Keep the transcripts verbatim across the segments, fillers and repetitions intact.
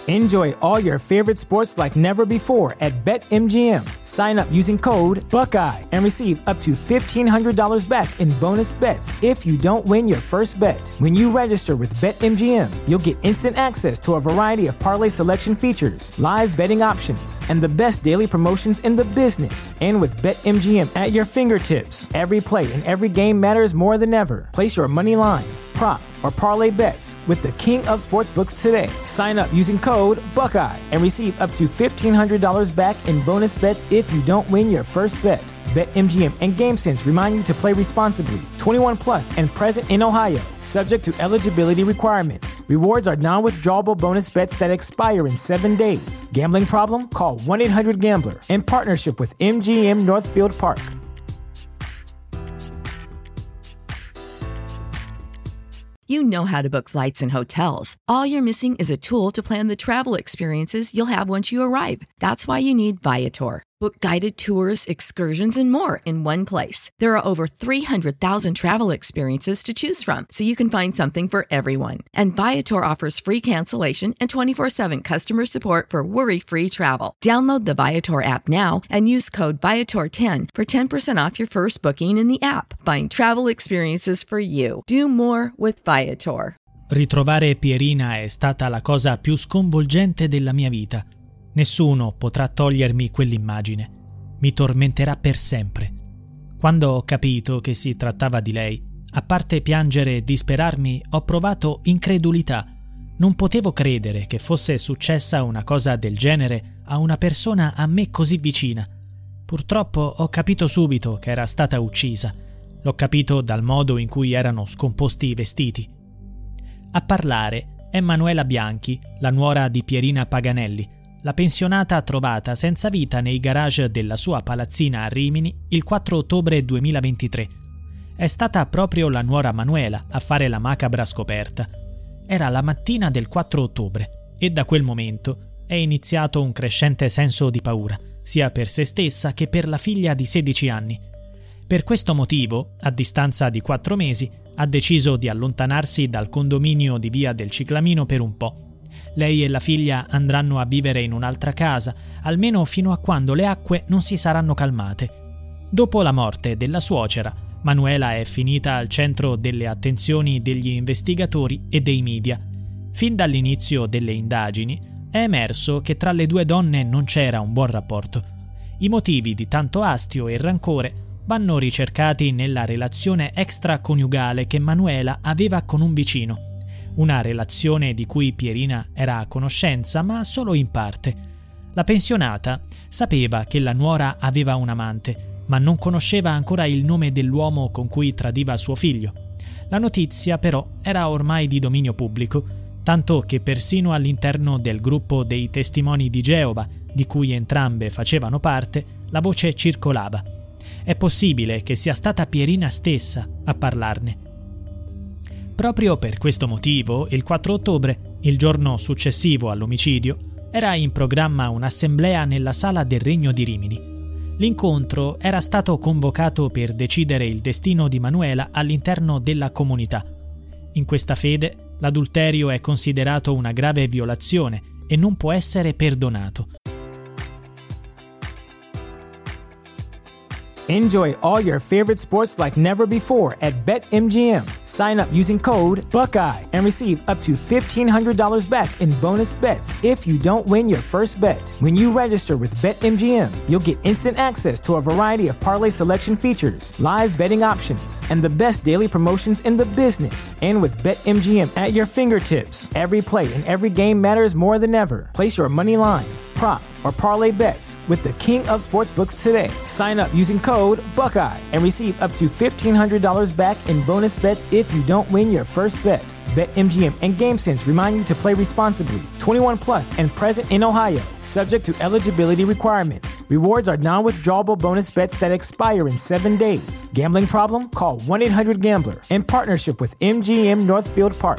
Enjoy all your favorite sports like never before at BetMGM. Sign up using code Buckeye and receive up to fifteen hundred dollars back in bonus bets if you don't win your first bet. When you register with BetMGM, you'll get instant access to a variety of parlay selection features, live betting options, and the best daily promotions in the business. And with BetMGM at your fingertips, every play and every game matters more than ever. Place your money line, prop, or parlay bets with the king of sportsbooks today. Sign up using code Buckeye and receive up to fifteen hundred dollars back in bonus bets if you don't win your first bet. BetMGM and GameSense remind you to play responsibly. twenty-one plus and present in Ohio, subject to eligibility requirements. Rewards are non-withdrawable bonus bets that expire in seven days. Gambling problem? Call one eight hundred gambler in partnership with M G M Northfield Park. You know how to book flights and hotels. All you're missing is a tool to plan the travel experiences you'll have once you arrive. That's why you need Viator. Book guided tours, excursions, and more in one place. There are over three hundred thousand travel experiences to choose from, so you can find something for everyone. And Viator offers free cancellation and twenty-four seven customer support for worry-free travel. Download the Viator app now and use code Viator ten for ten percent off your first booking in the app. Find travel experiences for you. Do more with Viator. Ritrovare Pierina è stata la cosa più sconvolgente della mia vita. Nessuno potrà togliermi quell'immagine. Mi tormenterà per sempre. Quando ho capito che si trattava di lei, a parte piangere e disperarmi, ho provato incredulità. Non potevo credere che fosse successa una cosa del genere a una persona a me così vicina. Purtroppo ho capito subito che era stata uccisa. L'ho capito dal modo in cui erano scomposti i vestiti. A parlare è Manuela Bianchi, la nuora di Pierina Paganelli, la pensionata trovata senza vita nei garage della sua palazzina a Rimini il quattro ottobre duemilaventitré. È stata proprio la nuora Manuela a fare la macabra scoperta. Era la mattina del quattro ottobre e da quel momento è iniziato un crescente senso di paura, sia per se stessa che per la figlia di sedici anni. Per questo motivo, a distanza di quattro mesi, ha deciso di allontanarsi dal condominio di Via del Ciclamino per un po'. Lei e la figlia andranno a vivere in un'altra casa, almeno fino a quando le acque non si saranno calmate. Dopo la morte della suocera, Manuela è finita al centro delle attenzioni degli investigatori e dei media. Fin dall'inizio delle indagini è emerso che tra le due donne non c'era un buon rapporto. I motivi di tanto astio e rancore vanno ricercati nella relazione extraconiugale che Manuela aveva con un vicino. Una relazione di cui Pierina era a conoscenza, ma solo in parte. La pensionata sapeva che la nuora aveva un amante, ma non conosceva ancora il nome dell'uomo con cui tradiva suo figlio. La notizia, però, era ormai di dominio pubblico, tanto che persino all'interno del gruppo dei testimoni di Geova, di cui entrambe facevano parte, la voce circolava. È possibile che sia stata Pierina stessa a parlarne. Proprio per questo motivo, il quattro ottobre, il giorno successivo all'omicidio, era in programma un'assemblea nella Sala del Regno di Rimini. L'incontro era stato convocato per decidere il destino di Manuela all'interno della comunità. In questa fede, l'adulterio è considerato una grave violazione e non può essere perdonato. Enjoy all your favorite sports like never before at BetMGM. Sign up using code Buckeye and receive up to fifteen hundred dollars back in bonus bets if you don't win your first bet. When you register with BetMGM, you'll get instant access to a variety of parlay selection features, live betting options, and the best daily promotions in the business. And with BetMGM at your fingertips, every play and every game matters more than ever. Place your money line, prop, or parlay bets with the king of sportsbooks today. Sign up using code Buckeye and receive up to fifteen hundred dollars back in bonus bets if you don't win your first bet. BetMGM and GameSense remind you to play responsibly. twenty-one plus and present in Ohio, subject to eligibility requirements. Rewards are non-withdrawable bonus bets that expire in seven days. Gambling problem? Call one eight hundred gambler in partnership with M G M Northfield Park.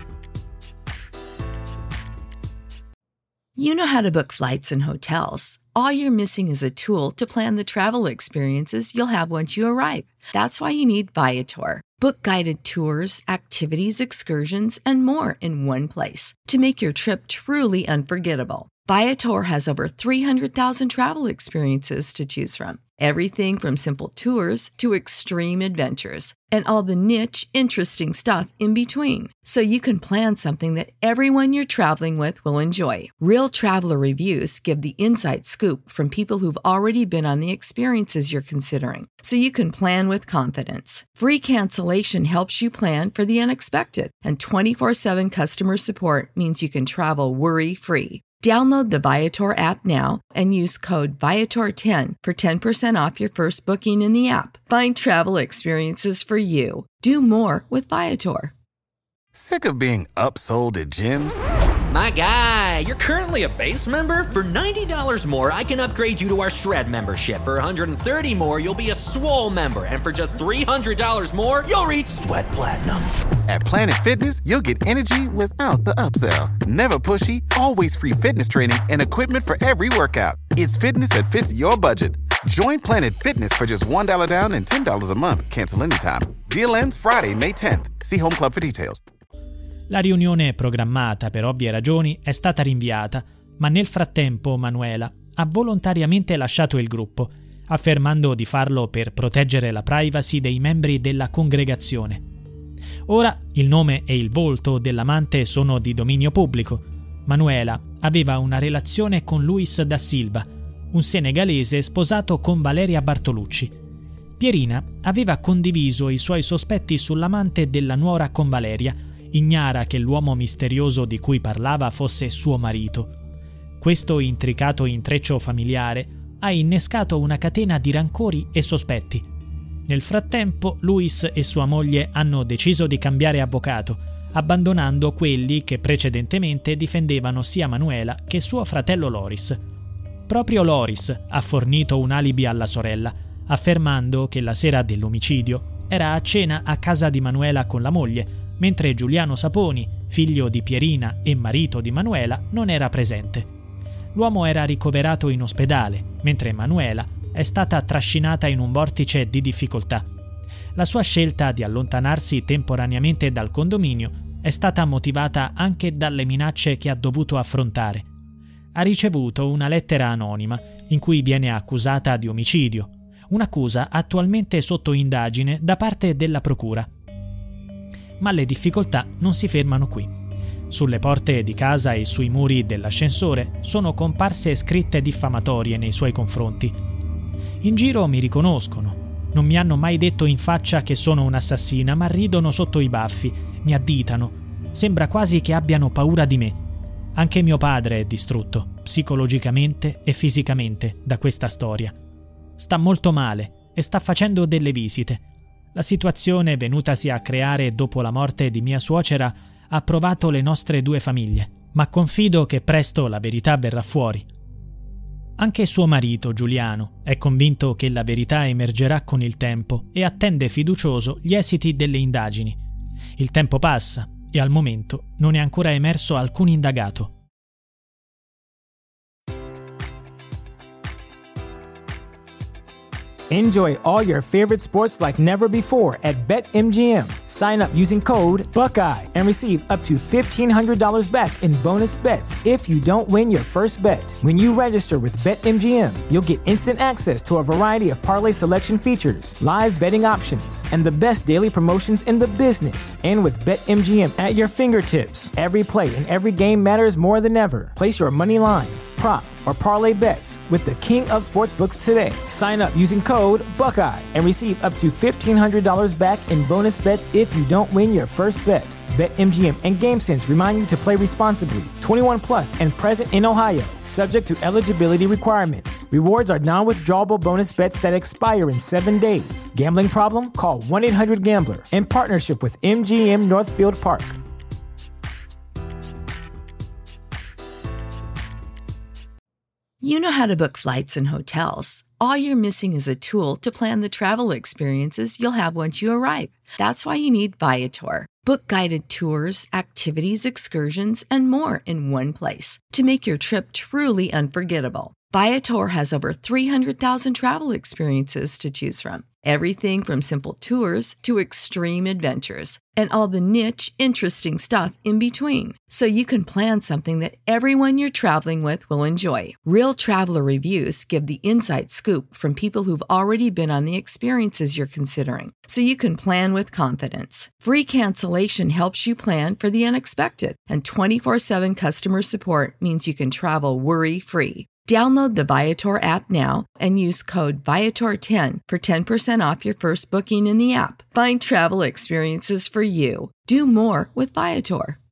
You know how to book flights and hotels. All you're missing is a tool to plan the travel experiences you'll have once you arrive. That's why you need Viator. Book guided tours, activities, excursions, and more in one place to make your trip truly unforgettable. Viator has over three hundred thousand travel experiences to choose from. Everything from simple tours to extreme adventures and all the niche, interesting stuff in between. So you can plan something that everyone you're traveling with will enjoy. Real traveler reviews give the inside scoop from people who've already been on the experiences you're considering. So you can plan with confidence. Free cancellation helps you plan for the unexpected. And twenty-four seven customer support means you can travel worry-free. Download the Viator app now and use code Viator ten for ten percent off your first booking in the app. Find travel experiences for you. Do more with Viator. Sick of being upsold at gyms? My guy, you're currently a base member? For ninety dollars more, I can upgrade you to our Shred membership. For one hundred thirty dollars more, you'll be a Swole member. And for just three hundred dollars more, you'll reach Sweat Platinum. At Planet Fitness, you'll get energy without the upsell. Never pushy, always free fitness training and equipment for every workout. It's fitness that fits your budget. Join Planet Fitness for just one dollar down and ten dollars a month. Cancel anytime. Deal ends Friday, May tenth. See Home Club for details. La riunione programmata per ovvie ragioni è stata rinviata, ma nel frattempo Manuela ha volontariamente lasciato il gruppo, affermando di farlo per proteggere la privacy dei membri della congregazione. Ora il nome e il volto dell'amante sono di dominio pubblico. Manuela aveva una relazione con Luis da Silva, un senegalese sposato con Valeria Bartolucci. Pierina aveva condiviso i suoi sospetti sull'amante della nuora con Valeria, ignara che l'uomo misterioso di cui parlava fosse suo marito. Questo intricato intreccio familiare ha innescato una catena di rancori e sospetti. Nel frattempo, Luis e sua moglie hanno deciso di cambiare avvocato, abbandonando quelli che precedentemente difendevano sia Manuela che suo fratello Loris. Proprio Loris ha fornito un alibi alla sorella, affermando che la sera dell'omicidio era a cena a casa di Manuela con la moglie, mentre Giuliano Saponi, figlio di Pierina e marito di Manuela, non era presente. L'uomo era ricoverato in ospedale, mentre Manuela è stata trascinata in un vortice di difficoltà. La sua scelta di allontanarsi temporaneamente dal condominio è stata motivata anche dalle minacce che ha dovuto affrontare. Ha ricevuto una lettera anonima in cui viene accusata di omicidio, un'accusa attualmente sotto indagine da parte della procura. Ma le difficoltà non si fermano qui. Sulle porte di casa e sui muri dell'ascensore sono comparse scritte diffamatorie nei suoi confronti. In giro mi riconoscono. Non mi hanno mai detto in faccia che sono un'assassina, ma ridono sotto i baffi, mi additano. Sembra quasi che abbiano paura di me. Anche mio padre è distrutto, psicologicamente e fisicamente, da questa storia. Sta molto male e sta facendo delle visite. La situazione venutasi a creare dopo la morte di mia suocera ha provato le nostre due famiglie, ma confido che presto la verità verrà fuori. Anche suo marito, Giuliano, è convinto che la verità emergerà con il tempo e attende fiducioso gli esiti delle indagini. Il tempo passa e al momento non è ancora emerso alcun indagato. Enjoy all your favorite sports like never before at BetMGM. Sign up using code Buckeye and receive up to fifteen hundred dollars back in bonus bets if you don't win your first bet. When you register with BetMGM, you'll get instant access to a variety of parlay selection features, live betting options, and the best daily promotions in the business. And with BetMGM at your fingertips, every play and every game matters more than ever. Place your money line, prop, or parlay bets with the king of sportsbooks today. Sign up using code Buckeye and receive up to fifteen hundred dollars back in bonus bets if you don't win your first bet. BetMGM and GameSense remind you to play responsibly. twenty-one plus and present in Ohio, subject to eligibility requirements. Rewards are non-withdrawable bonus bets that expire in seven days. Gambling problem? Call one eight hundred gambler in partnership with M G M Northfield Park. You know how to book flights and hotels. All you're missing is a tool to plan the travel experiences you'll have once you arrive. That's why you need Viator. Book guided tours, activities, excursions, and more in one place to make your trip truly unforgettable. Viator has over three hundred thousand travel experiences to choose from. Everything from simple tours to extreme adventures and all the niche, interesting stuff in between. So you can plan something that everyone you're traveling with will enjoy. Real traveler reviews give the inside scoop from people who've already been on the experiences you're considering. So you can plan with confidence. Free cancellation helps you plan for the unexpected. And twenty-four seven customer support means you can travel worry-free. Download the Viator app now and use code Viator ten for ten percent off your first booking in the app. Find travel experiences for you. Do more with Viator.